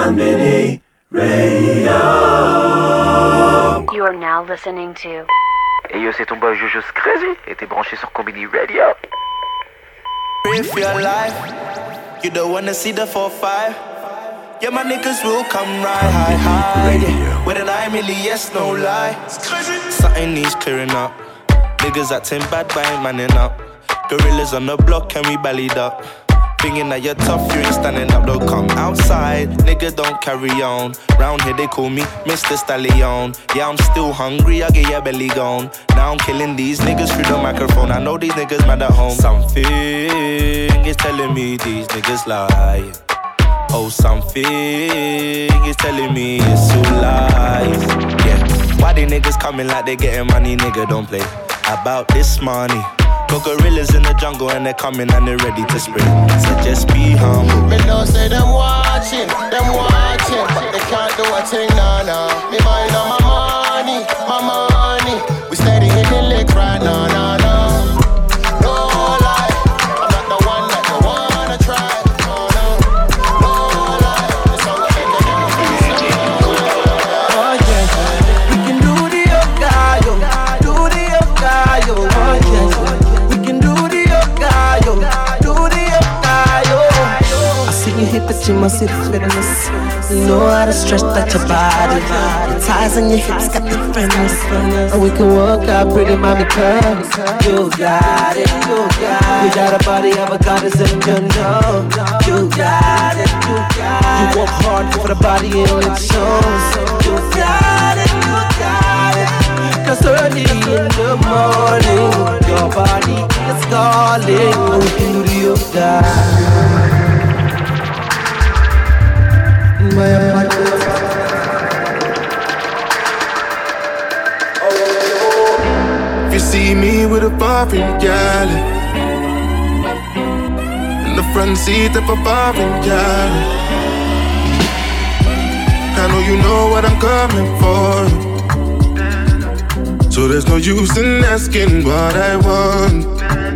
Comedy Radio. You are now listening to. Hey yo, c'est ton boy Jojo's Crazy et t'es branché sur Comedy Radio. If you're alive, you don't wanna see the 4-5. Yeah, my niggas will come right high. Yeah. With an eye, really, yes, no lie. Something needs clearing up. Niggas acting bad, but ain't manning up. Gorillas on the block, and we ballied up. Thinking that you're tough, you ain't standing up, don't come outside. Nigga, don't carry on. Round here, they call me Mr. Stallion. Yeah, I'm still hungry, I get your belly gone. Now I'm killing these niggas through the microphone. I know these niggas mad at home. Something is telling me these niggas lie. Oh, something is telling me it's all lies. Yeah, why they niggas coming like they getting money? Nigga, don't play about this money. Got gorillas in the jungle and they're coming and they're ready to spring. So just be humble. Me know say them watching, but they can't do a thing, nah. Me mind on my money. We steady hitting licks right now, nah. No lie, I'm not the one that you wanna try. No lie, the song will make it Oh yeah, we can do the yoga, oh yeah. You hit the gym, I see the fitness. You know how to stretch that your body. The ties on your hips got the fitness. And we can work out pretty mommy curves. You got it, you got a body of a goddess and you know. You got it, you work hard for the body and it shows. You got it, cause early in the morning your body is calling. And we can do the yoga. If you see me with a foreign gal in the front seat of a foreign gal, I know you know what I'm coming for. So there's no use in asking what I want.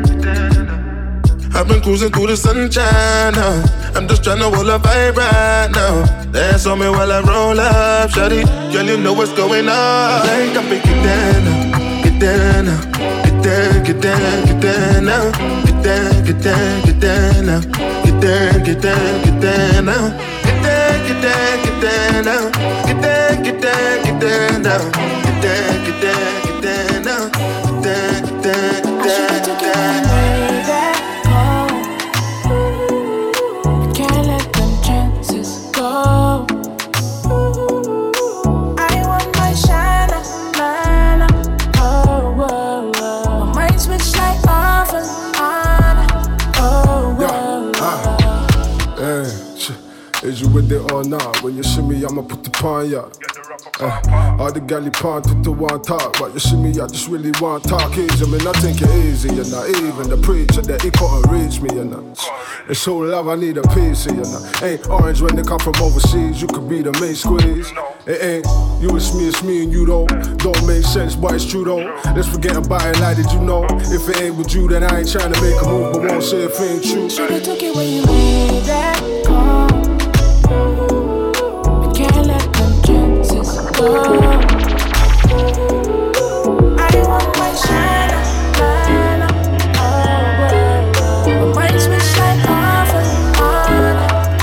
I've been cruising through the sunshine now. I'm just tryna hold a vibe right now. Dance on me while I roll up, shawty. Girl, you know what's going on. Like I'm get down now, get down now, get down, get down, get down now, get down, get down, get down now, get down, get down, get down now, get down, get down, get down now, get down, get down, get down now, get down, get down, get down now, get down, get down, get down. Is you with it or not? When you shimmy, I'ma put the pawn ya. All the galley pawn to the one talk. But you shimmy, I just really want talk easy. I mean, I think it easy, you're not even the preacher that he couldn't reach me, you know. It's so love, I need a piece of you know. Ain't orange when they come from overseas. You could be the main squeeze. It ain't you, it's me and you don't make sense, but it's true though. Let's forget about it, like did you know? If it ain't with you, then I ain't trying to make a move, but won't say if it ain't true. Should've took it when you made that call. I can't let them chances go. I want my shine, my mind switch like off and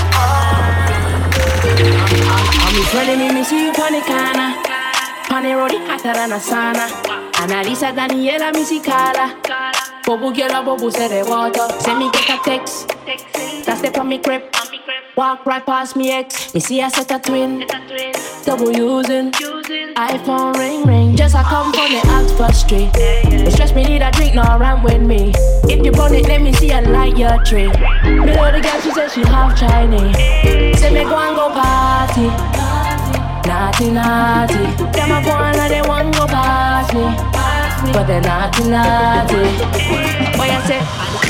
on. I'm friendly, me see you on the corner. On the road, hotter than a sauna. Analisa Daniela Musicala. Bobo girl, bobo say the water. Send me get a text. That's the on me crib. Walk right past me ex. Me see I set a twin. Double using. iPhone ring. Just I come from the Oxford Street. It stress me need a drink, no run with me. If you want it, let me see I like your tree. Me know the girl, she said she half Chinese. Say me go and go party. Naughty. Them a go and they want go past me. But they're naughty. Boy, I say,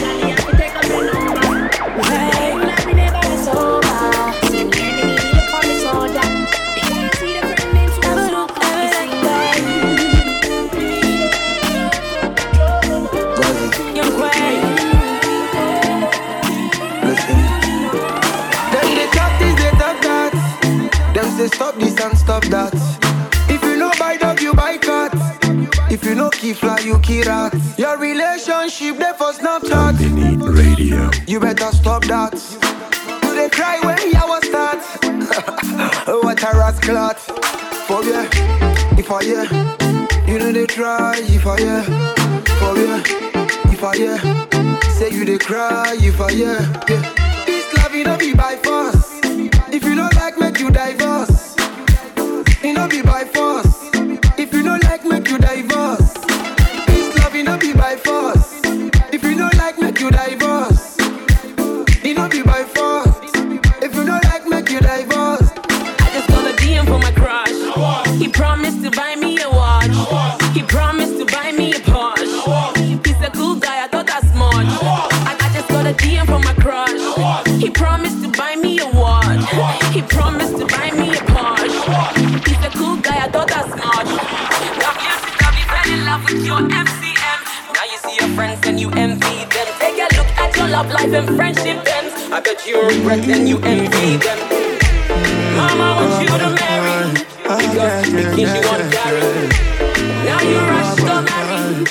hey, let me never be sober. See me look on the soldier. See the friend names who look like that. Young Quay. Listen. Then they talk this, they talk that. stop this and stop that. If you know buy dog, you buy cat. If you know key fly, you key rat. Your relationship, they for Snapchat. Beneath Radio. You better stop that. Do they cry when you was start? What a rascal. For yeah, if I yeah, you know they try. If I yeah, for yeah, if I yeah, say you they cry. If I yeah, this love you don't be by force. If you don't like, make you divorce. You don't be by force. If you don't like, make you divorce. This love you don't be by force. If you don't like, make you divorce. You don't be by force. If you don't like, make you divorce. I just got a DM from my crush. He promised to buy me a watch. He promised to buy me a Porsche. He's a cool guy, I thought that's much. I just got a DM from my crush. He promised to buy me a watch. He promised to buy me a Porsche. He's a cool guy, I thought that's much. Love you since I fell in love with your MCM. Now you see your friends and you envy them. Take a look at your love life and friendship ends. I bet you regret and you envy them. Mama wants you to marry because she thinks you want to carry. Now you rush to marry.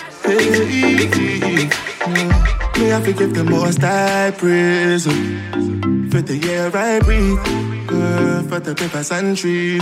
Me I forgive the most I praise for the year I breathe, for the papers and trees.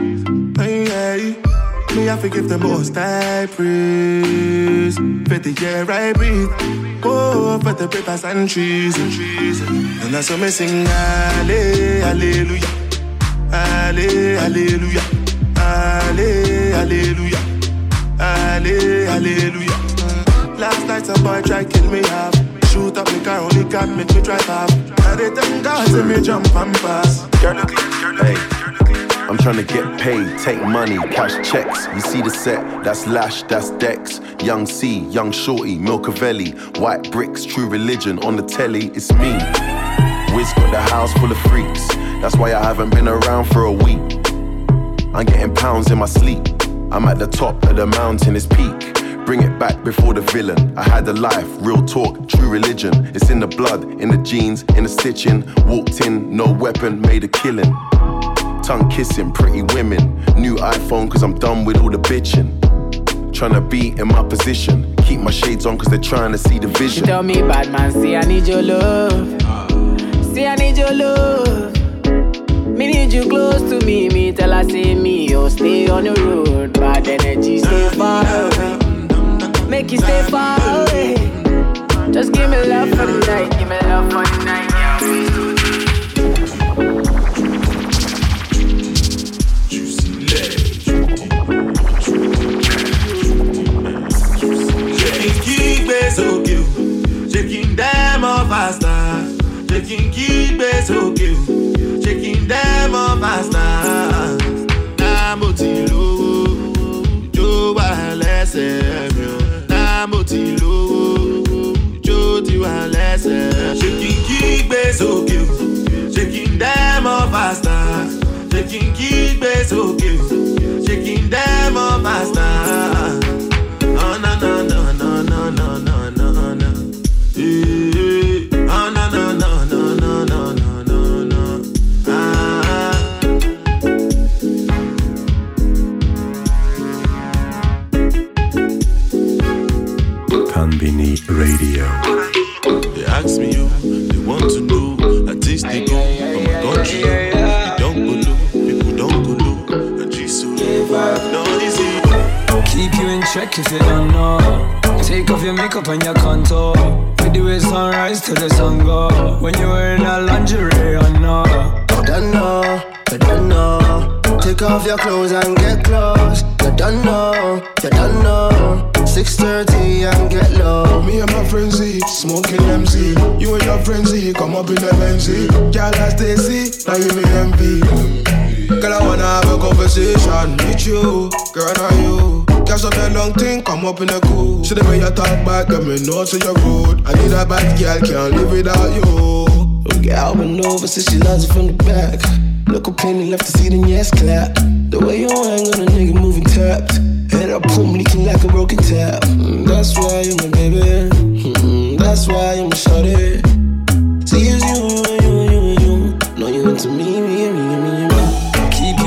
Me I forgive the most I praise for the year I breathe, for the papers and trees. And that's what me sing, hallelujah, hallelujah, hallelujah, hallelujah. Last night a boy tried kill me off. Shoot up me car, only got make me drive off. And they thank God to me jump and pass. Hey, I'm trying to get paid, take money, cash checks. You see the set, that's Lash, that's Dex. Young C, Young Shorty, Milcavelli. White bricks, True Religion, on the telly, it's me. Wiz got the house full of freaks. That's why I haven't been around for a week. I'm getting pounds in my sleep. I'm at the top of the mountain, it's peak. Bring it back before the villain. I had a life, real talk, true religion. It's in the blood, in the jeans, in the stitching. Walked in, no weapon, made a killing. Tongue kissing, pretty women. New iPhone cause I'm done with all the bitching. Tryna be in my position. Keep my shades on cause they're trying to see the vision. She tell me, bad man, say I need your love. Say I need your love. Me need you close to me. Me tell her say me, oh stay on the road. Bad energy, stay far away. Make you stay far away. Just give me love for the night. Give me love for the night, yeah. Shaking keep so cute. Shaking them off faster. Shaking keep so cute. Shaking them off faster. Namotilo, Joe Alessio. Namotilo, Joe Alessio. Shaking keep so cute. Shaking them off faster. Shaking keep so cute. Shaking them off faster. Oh no no no no no no no no no. Oh no no no no no no no no no. Conbini Radio. They ask me you, they want to know. Artists they go from my country. They don't go low, people don't go low. And she's so no easy. Keep you in check if you don't know. Take off your makeup and your contour. With the way sunrise till the sun go. When you're wearing a lingerie or no. I don't know. Take off your clothes and get close. You don't know. 6:30 and get low. Me and my friends smoking MC. You and your friends come up in the Benzie. Girl as they see, now you me envy. Girl I wanna have a conversation with you. Girl now you. Catch up that long thing, come up in the cool. See the way you talk back, let me know to your road. I need a bad girl, can't live without you. Girl been over since she loves it from the back. Look up penny left to see the yes clap. The way you hang on a nigga moving tapped. Head up, boom, leaking like a broken tap. That's why you're my baby. That's why you're my shorty. See, it's you. No, you into me. Keep you in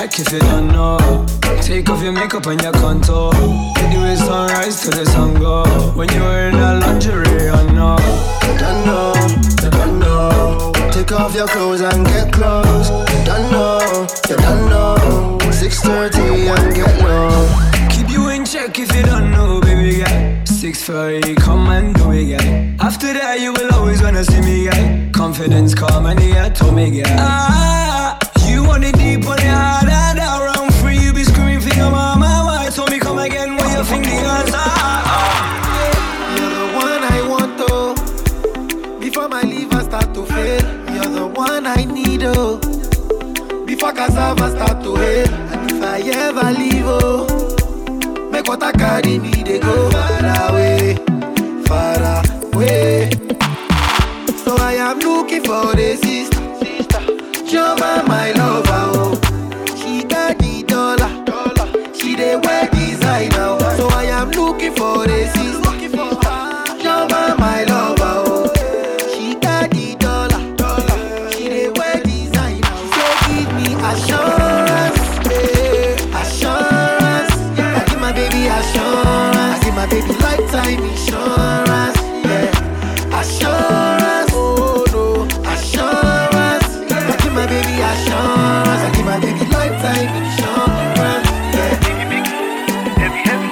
check if you don't know. Take off your makeup and your contour. With the way sunrise to the sun go. When you're wearing a lingerie, I know. You don't know, you don't know. Take off your clothes and get close. You don't know, you don't know. 6:30 and get low. Keep you in check if you don't know, baby girl. 6:30, come and do it, girl. After that, you will always wanna see me, girl. Confidence, calm, and yeah, told me, girl. Ah, you want it deep on your heart, and around free, you be screaming for your mama. Why told me come again when your fingers You're the one I want, oh. Before my liver start to fail, you're the one I need, oh. Before cassava start to hail, and if I ever leave, oh, make what I carry me, they go far away, far away. So I am looking for a sister, Joma, my lover, oh. She got the dollar, she dey wear designer, oh. So I am looking for a sister, Joma, my lover, oh. She got the dollar, she dey wear designer. So give me assurance, assurance. I give my baby assurance, I give my baby lifetime insurance, yeah. Assurance, oh no, assurance. I give my baby assurance, I give my baby lifetime insurance, yeah. Heavy, heavy,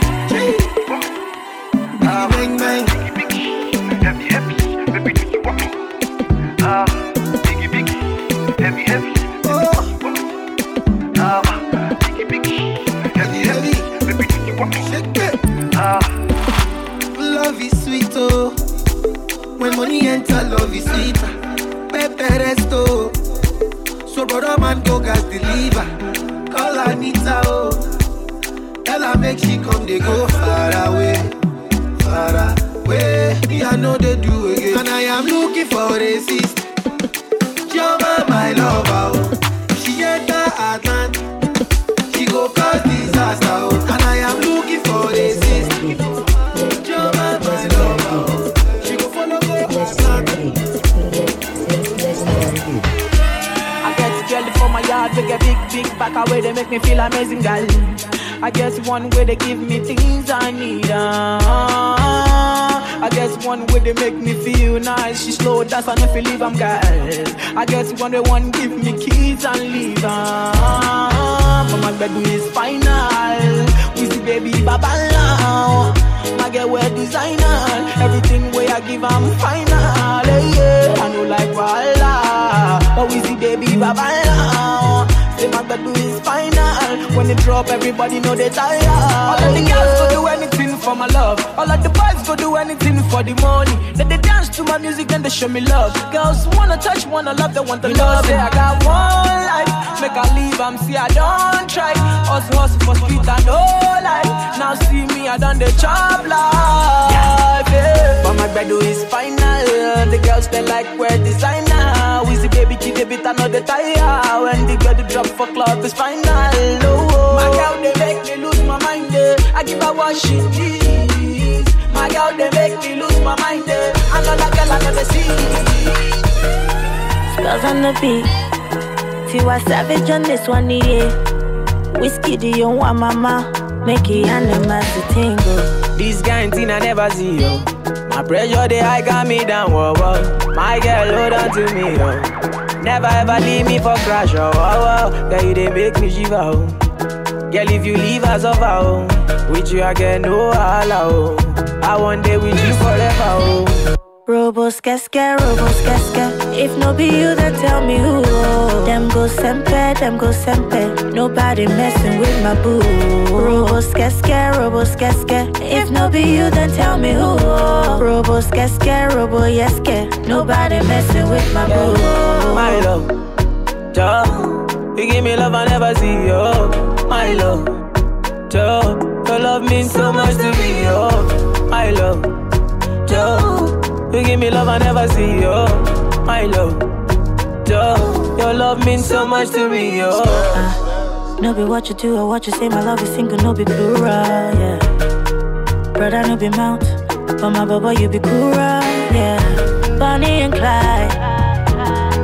bang, bang. Heavy, heavy, baby, do you want me? Biggie, biggie, heavy, heavy. Baby, do you want me? Shake it. Love is sweet, oh. When money enter, love is sweeter. Pepe resto. So brother man go gas deliver. Call Anita, oh. Tell her make she come, they go far away, far away. Me I know they do again. And I am looking for a sister, Joma, my lover, oh. She enter Atlanta, she go cause disaster, oh. And I am looking for a sister, Joma, my lover, oh. She go follow go Atlanta. I get jelly for my yard, we get big back away, they make me feel amazing, girl. I guess one way they give me things I need. I guess one way they make me feel nice. She slow dance and if you leave, I'm girl. I guess one way one give me keys and leave. But my bedroom is final. We see baby baba now. My girl wear designer. Everything way I give, I'm final. Yeah, I know like Walla. But we see baby baba now. Say my bedroom is final. When they drop, everybody know they tired. All of the girls go do anything for my love. All of the boys go do anything for the money. Then they dance to my music, then they show me love. Girls wanna touch, wanna love, they want the love. Say I got one life, make I leave, see I don't try. Hustle for street and no life. Now see me, I done the job life, yeah. But my bedroom is final. The girls they like wear designer. We see baby kid, they bit another tire. When the girl drop for club is final. Oh, my girl they make me lose my mind. I give her what she needs. My girl they make me lose my mind. Another girl I never see. Spells on the beat. Tiwa Savage on this one, yeah. Whiskey do you want mama? Make it animals to tingle. This guy thing I never see, yo. My pressure they high got me down, whoa, whoa. My girl hold on to me, yo. Never ever leave me for crash, oh, oh, oh. Girl, you they make me shiver, oh. Girl, if you leave us over, oh. With you I get no holla, oh. I want day with you forever, oh. Robos casca. If no be you, then tell me who. Them go sempe. Nobody messing with my boo. Robos casca. If no be you, then tell me who. Robos casca, nobody messing with my boo. My love, Joe, you give me love I never see, yo. My love, Joe, your love means so much to me, yo. My love, Joe. You give me love I never see, yo. My love, Joe. Your love means so much to me, yo. No be what you do or what you say. My love is single, no be plural, yeah. Brother, no be mount, but my baba, you be cool, yeah. Bonnie and Clyde, that's how I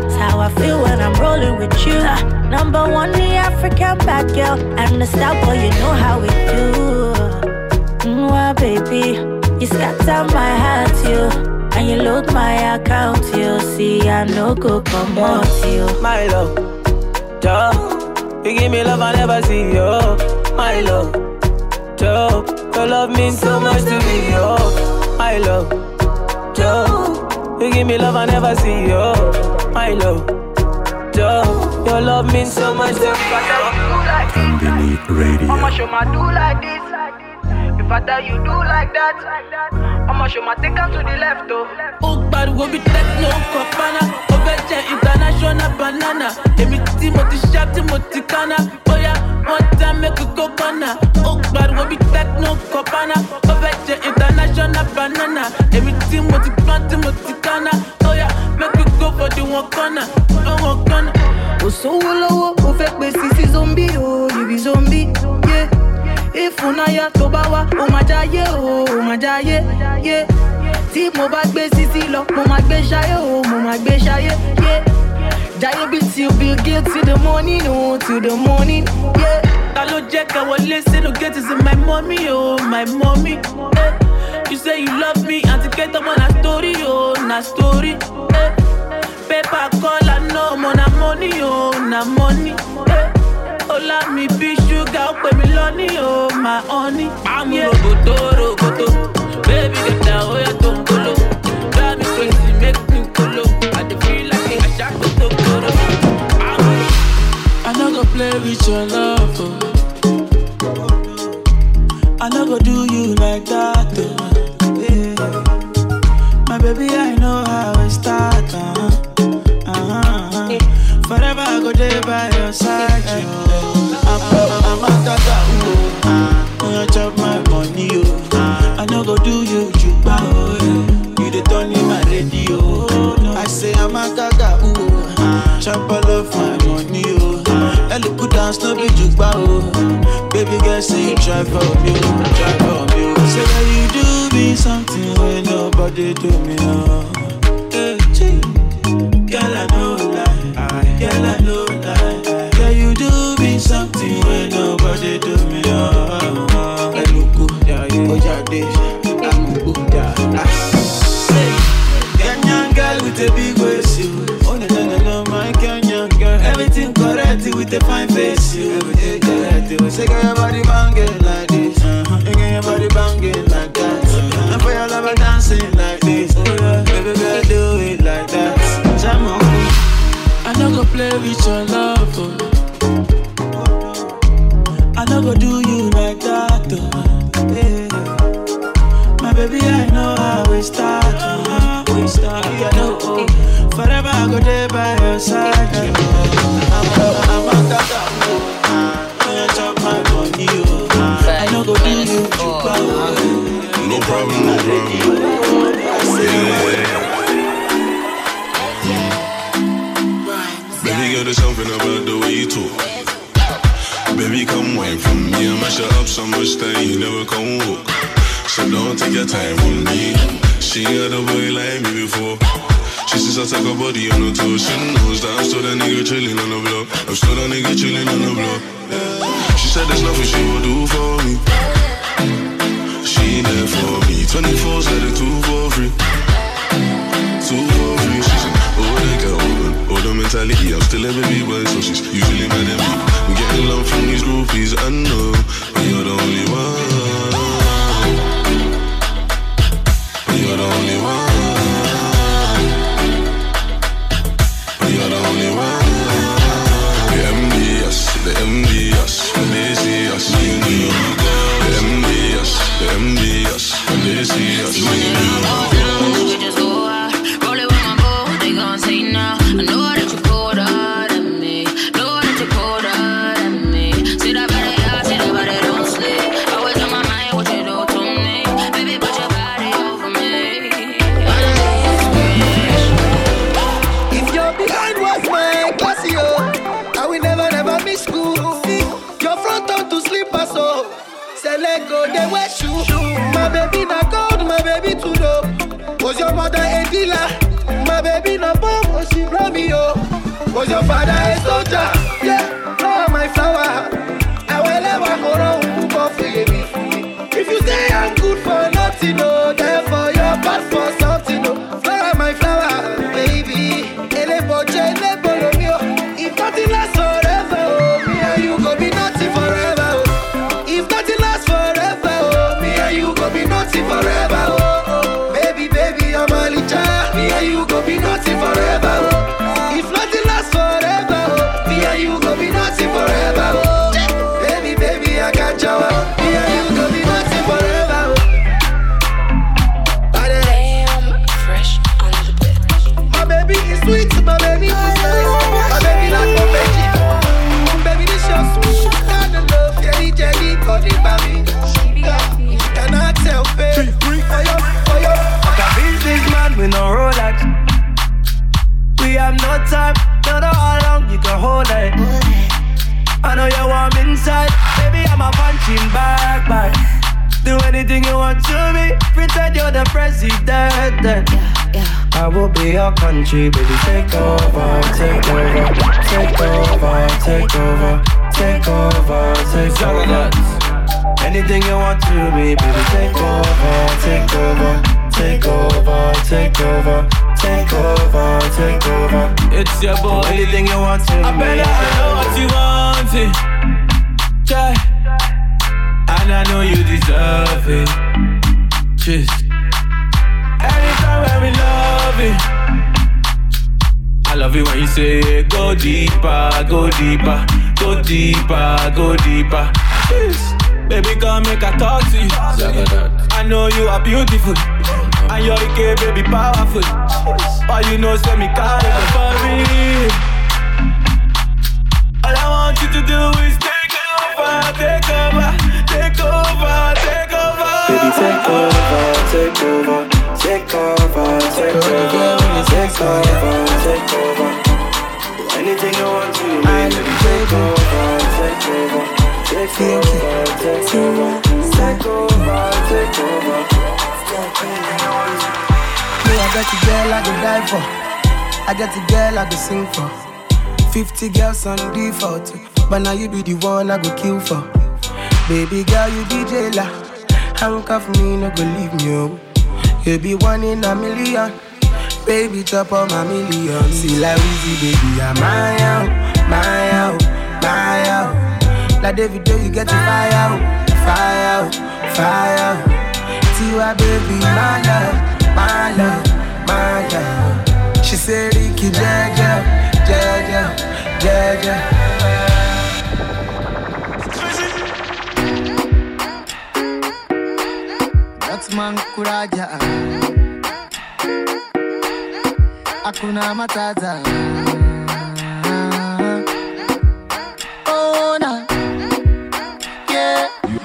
feel when I'm rolling with you. Number one, the African bad girl. I'm the star boy, you know how we do. Mwah, baby, you scatter my heart, you. And you load my account, you. See, I no go come out, you. My love, Joe, you give me love I never see, yo. My love, Joe, your love means so much to me, yo. My love, Joe, you give me love I never see, yo. My love, Joe, your love means so much to me. Conbini Radio. I'ma show my do like this. If I tell you do like that, I'ma show my take out to the left, though. Oh, but we be techno copana, Oveche international banana. Emi Timothy Sharp, Timothy Kana. Oh yeah, one time make a go banana. Oh, but we be techno copana, Oveche international banana. Emi Timothy Plant, Timothy Kana. Oh yeah, make we go for the one corner, one corner. Oh, so low, oh, fake me, sissy zombie, oh, you be zombie, yeah. If unaya tobawa, oh my jaye, yeah. Tí mo bá gbé sisi lọ, mo máa gbé ṣayé, oh, mo máa gbé ṣayé, yeah. Jaye be till Bill Gates till the morning, oh, till the morning, yeah. Ta ló jẹ́ ká wọlé sínú gate is my mommy, oh, my mommy, eh. You say you love me, and to get up on a story, oh, na story, eh. Paper call, I know, mo na money, oh, na money, eh. Ola mi be sugar, ó pè mí lọ́ní, oh, my honey. I'm roboto, baby get down, oh yeah, don't go low. Drive me crazy, make me go low. I dey feel like I shot to go low. I no go play with your love, oh. I no go do you like that, oh. Yeah. My baby, I know how it start, Forever I go there by your side, I'm a tata, oh. Chop my money, oh. I no go do you, juba, oh. You the turn in my radio, I say I'm a gaga, oh. Chop all of my money, oh. I look good dance, no be juba, oh. Baby girl, say you try for me, try for me. Say that you do me something when nobody do me, oh. Girl, I know lie, girl, I know lie. Girl, you do me something when nobody do me, oh. Kenyan girl with a big waist, you. Oh no, my Kenyan girl. Everything correct with a fine face, you. Everything correct, you. Say girl, your body banging like this, and girl, your body banging like that, and for your lover dancing like this, baby girl, do it like that. Jam on. I no go play with your love, oh. I no go do you like that, oh. Yeah. My baby, I know how we start, we start, I know, oh. Forever I go there by your side, I'm a tata, oh. I chop my money, oh. I no go do you, no problem, no problem. Baby girl, there's something about the way you talk. Baby, come wine from me and mash it up so much that you never come walk. So don't take your time on me. She had a boy like me before. She says I take her body on her toes. She knows that I'm still that nigga chilling on the block. I'm still that nigga chilling on the block. She said there's nothing she will do for me. She there for me. 24's at the 2 for free. 2 for free. She said, oh, they got older mentality. I'm still a baby boy, so she's usually mad at me. I'm getting love from these groupies, I know, but you're the only one. But you're the only one. But you're the only one. The MDS, the MDS, when they see us, you know. The MDS, when they see us, you know. We just go out, roll it with my boy, they gon' say now. I know that you're colder than me, know that you're colder than me. See that body, don't sleep. Always on my mind, what you do to me. Baby, put your body over me. If you're behind was my class, yo, I will never miss school. See, your front on to slipper, so say let go, they wear shoe. My baby not gold, my baby too low. Was your mother a dealer? My baby not bomb, oh she blow me, oh. Was your father a soldier? Yeah, flower my flower. I will never go wrong for you. If you say I'm good for nothing, no, therefore you're bad for something, no. Flower my flower, baby. If nothing lasts forever, oh, me and you go be nothing forever, oh. If nothing lasts forever, oh, me and you go be nothing forever, oh. Baby, baby, I'm a licha. Me and you go be nothing forever, oh. If nothing lasts forever, oh, me and you go be nothing forever, oh. Baby, baby, I got you. Me and you go be nothing forever, oh. Damn, fresh on the bed. My baby is sweet, my baby is nice. My baby like my baby. Baby, this your sweet kind of love. Jelly, got it by me. Cannot tell, baby. For you. Like a businessman with no Rolex. We have no time, don't know how long you can hold it. I know you're warm inside, baby, I'm a punching bag. Do anything you want to me, pretend you're the president. I will be your country, baby, take over, take over, take over, take over, take over, take over. Anything you want to me, baby, take over, take over, take over, take over, take over, take over. It's your boy. Anything you want to me. I better know what you want it. Yeah. And I know you deserve it. Just anytime when we love it. I love it when you say go deeper, go deeper, go deeper, go deeper. Just baby, come make a talk to you. I know you are beautiful, and you're the baby powerful. All you know, say me call it for me. All I want you to do is take over, take over, take over, take over. Baby, take over, take over, take over, take over, take over, take over. Anything you want to, baby, take over, take over, take over, take over, take over, take over. Me, I got a girl I go die for. I got a girl I go sing for. 50 girls on default, but now you be the one I go kill for. Baby girl, you be jailer. Handcuff me, no go leave me home. You be one in a million. Baby, chop on my million. See like Weezy, baby, I'm my out, my out, my out. Like David, you get to fire out, fire out, fire out. Tiwa, baby, my love, my love, my love. She said, Ricky, Jaja, Jaja, Jaja. Man kuraja Hakuna matata Oh na Yeah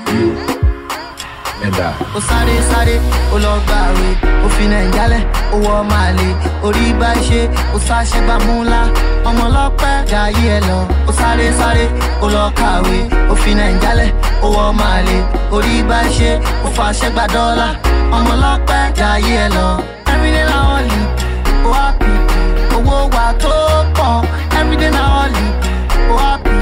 O sáré sáré, o lọ gbàwé, o fi Nàìjálẹ̀, o wọ Màlé, orí bá ṣe, o sáṣẹ́ bá múlá, ọmọ ọlọ́pẹ́ jayé ẹ lọ. O sáré sáré, o lọ kàwé, o fi Nàìjálẹ̀, o wọ Màlé, orí bá ṣe, o fàṣẹ gba dọ́là, ọmọ ọlọ́pẹ́ jayé ẹ lọ. Everyday na only, o happy, owó wa tó pọ̀. Everyday na only, o happy,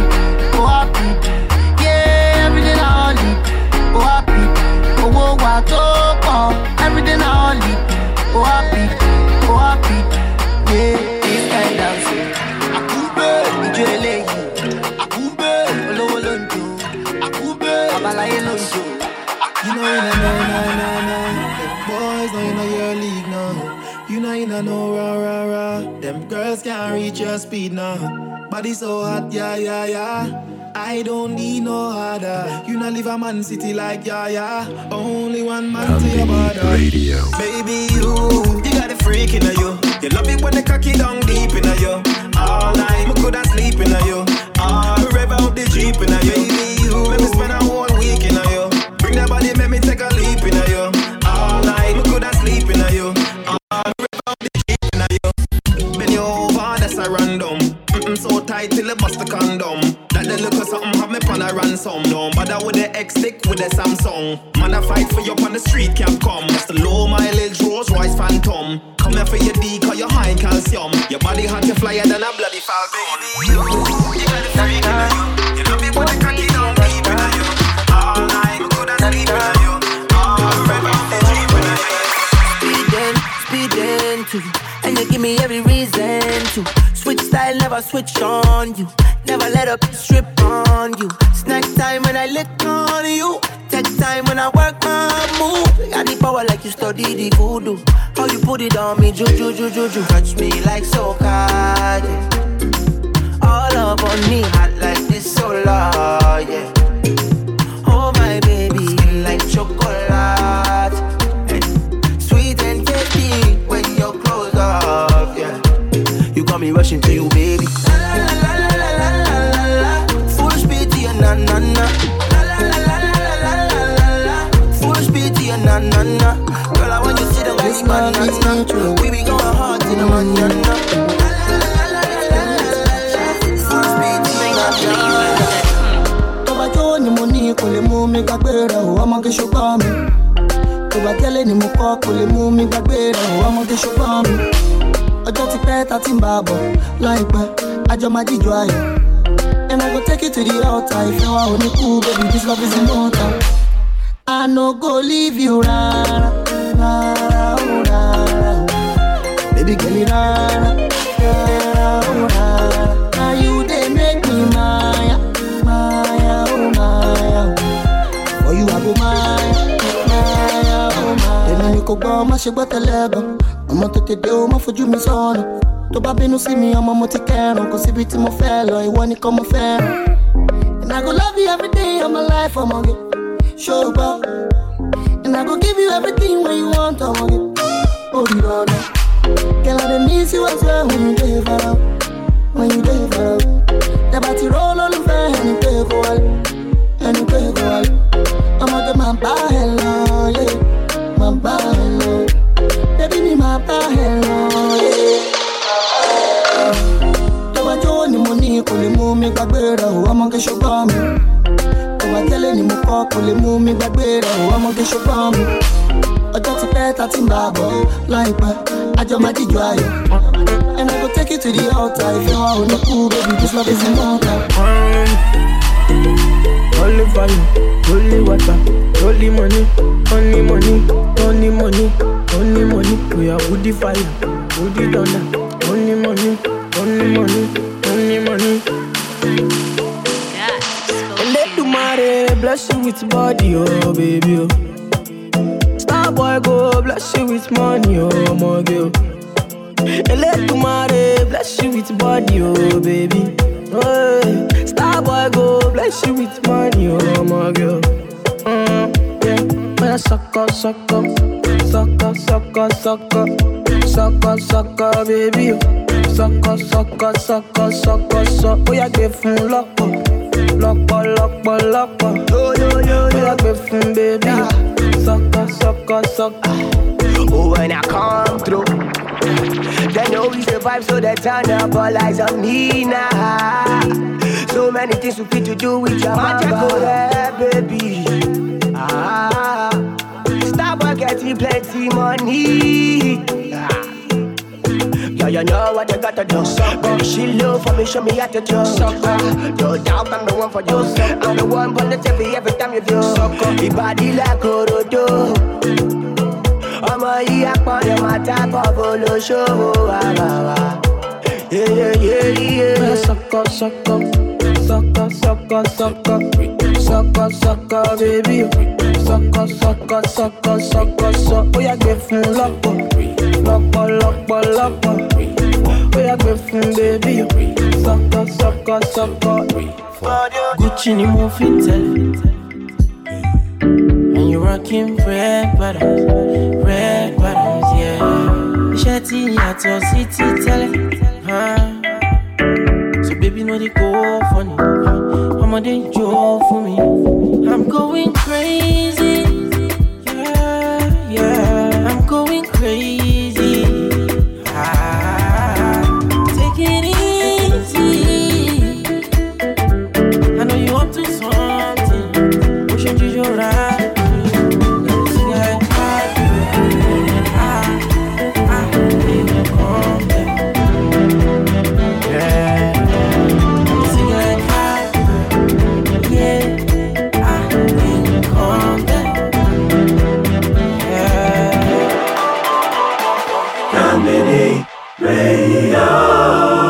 yeah. Everyday na only, o happy. Owó wa tó pọ̀, everyday na only, oh happy, yeah. This kind of shit, Akube, ijó eléyìí, Akube, olówó ló ń jó, Akube, babaláyé ló ń jó. You know, the boys know you know your league now. You know, rah. Them girls can't reach your speed now. Body so hot, yeah. I don't need no harder. You not live a man city like yeah. Only one man to your border. Radio. Baby, you got a freak in you. You love it when the cocky down deep in you. All night, me coulda sleep in you. Rev out the Jeep in you. Baby, you let me spend a whole week in you. Bring that body, make me take a leap in you. All night, me coulda sleep in you. Rev out the Jeep in you. Bend you over, that's a random. So tight till it bust the condom. That the look at something, have me pan a ransom. Don't bother with the X-stick with the Samsung. Man, I fight for you on the street, can't come. That's the low mileage Rolls Royce Phantom. Come here for your D, cause you're high in calcium. Your body hot, you flyer than a bloody falcon. You got the freak in you. You love me with the cocky down deep in you. All night, we couldn't sleep in you. Speeding to you, and you give me every reason to switch style, never switch on you. Never let up strip on you. Snack time when I lick on you. Take time when I work my move. Got the power like you study the voodoo. How you put it on me, juju. Touch me like soca, yeah. All up on me, hot like this solar, yeah. Oh my baby, skin like chocolate. Sweet and tasty when you're close up, yeah. You got me rushing to you, baby. La la la la la la la la. Full speed to your na na na. La la la la la la la la. Full speed to your na na na. Girl, I want you to see the way you banana. We be going hard to the manana. La la la la la la la. Full speed to your na na. Tó bá jó ni mo ní kò lè mú mi gbàgbé rẹ̀ o, ọmọge ṣùgbọ́n mi. Tó bá tẹ́lẹ̀ ni mo kọ́ kò lè mú mi gbàgbé rẹ̀ o, ọmọge ṣùgbọ́n mi. Ọjọ́ ti pẹ́ ta ti ń bá a bọ̀ láìpẹ́, àjọ máa jíjọ ayọ̀. And I go take you to the altar. If you are only cool, baby, this love is immortal. I no go leave you, rara, rara, rara. Baby, girl, rara, rara, rara. Now you they make me maya, maya, oh maya. For you I go maya, maya, oh maya. Then you go go, ma she go telego. Ọmọ tètè dé o, má fojú mi sọ̀rọ̀. Tó bá bínú sí mi, ọmọ mo ti kẹ́rùn. Kò síbi tí mo fẹ́ lọ, ìwọ nìkan mo fẹ́ràn. And I go love you every day of my life, ọmọge. Ṣùgbọ́n. And I go give you everything when you want, ọmọge. Oh, you know that. Girl, I dey miss you as well when you dey far out. When you dey far out. Tẹ́bà ti rọ́ lólùfẹ́ ẹni pé kò wálé. Ẹni pé kò wálé. Ọmọge máa bá ẹ lọ, yeah. Máa bá ẹ lọ. Baby, me my hello, yeah. Tó bá jó ni mo ní kò lè mú mi gbàgbé rẹ̀ o, ọmọge ṣùgbọ́n mi. Tó bá tẹ́lẹ̀ ni mo kọ́ kò lè mú mi gbàgbé rẹ̀ o, ọmọge ṣùgbọ́n mi. Ọjọ́ ti pẹ́ ta ti ń bá a bọ̀ láìpẹ́, àjọ máa jíjọ ayọ̀. And I go take you to the altar. If you are only cool, baby, this love is immortal. Only fire, only water, only money, only money, only money, only money. We are woody fire, woody thunder. Only money, only money, only money. And let the money bless you with body, oh baby. Oh. Star boy go bless you with money, oh my girl. And let the money bless you with body, oh baby. Oh, star boy go bless you with money, oh my girl. Yeah, when I suck up, baby. Suck up. Oh yeah, give him lock up. Oh yeah, give him baby. Suck. Oh, when I come through, they know we survive, so they turn up all eyes on me now. So many things we fit to do with your magic, baby. Starboy getting plenty money. Yo, you know what you gotta do. Baby, she love for me, show me how to do. No doubt I'm the one for you. I'm the one on the TV every time you do. Your body like Orodo. Ọmọ yìí àpọ̀lẹ̀ máa dábọ̀ bó ló ṣòwò àbàwà. Sọkọ, baby. Sọkọ. Ó yá gbé fún lọ́pọ̀. Ó yá gbé fún baby. Sọkọ. Gucci ni mo fi tẹ̀lé. And you rockin' red bottoms, yeah. Iṣẹ́ tí yàtọ̀ sí ti tẹ́lẹ̀, so baby no dey go funny, ọmọdé jó fún mi. I'm going crazy, yeah. I'm going crazy. Take it easy. I Radio.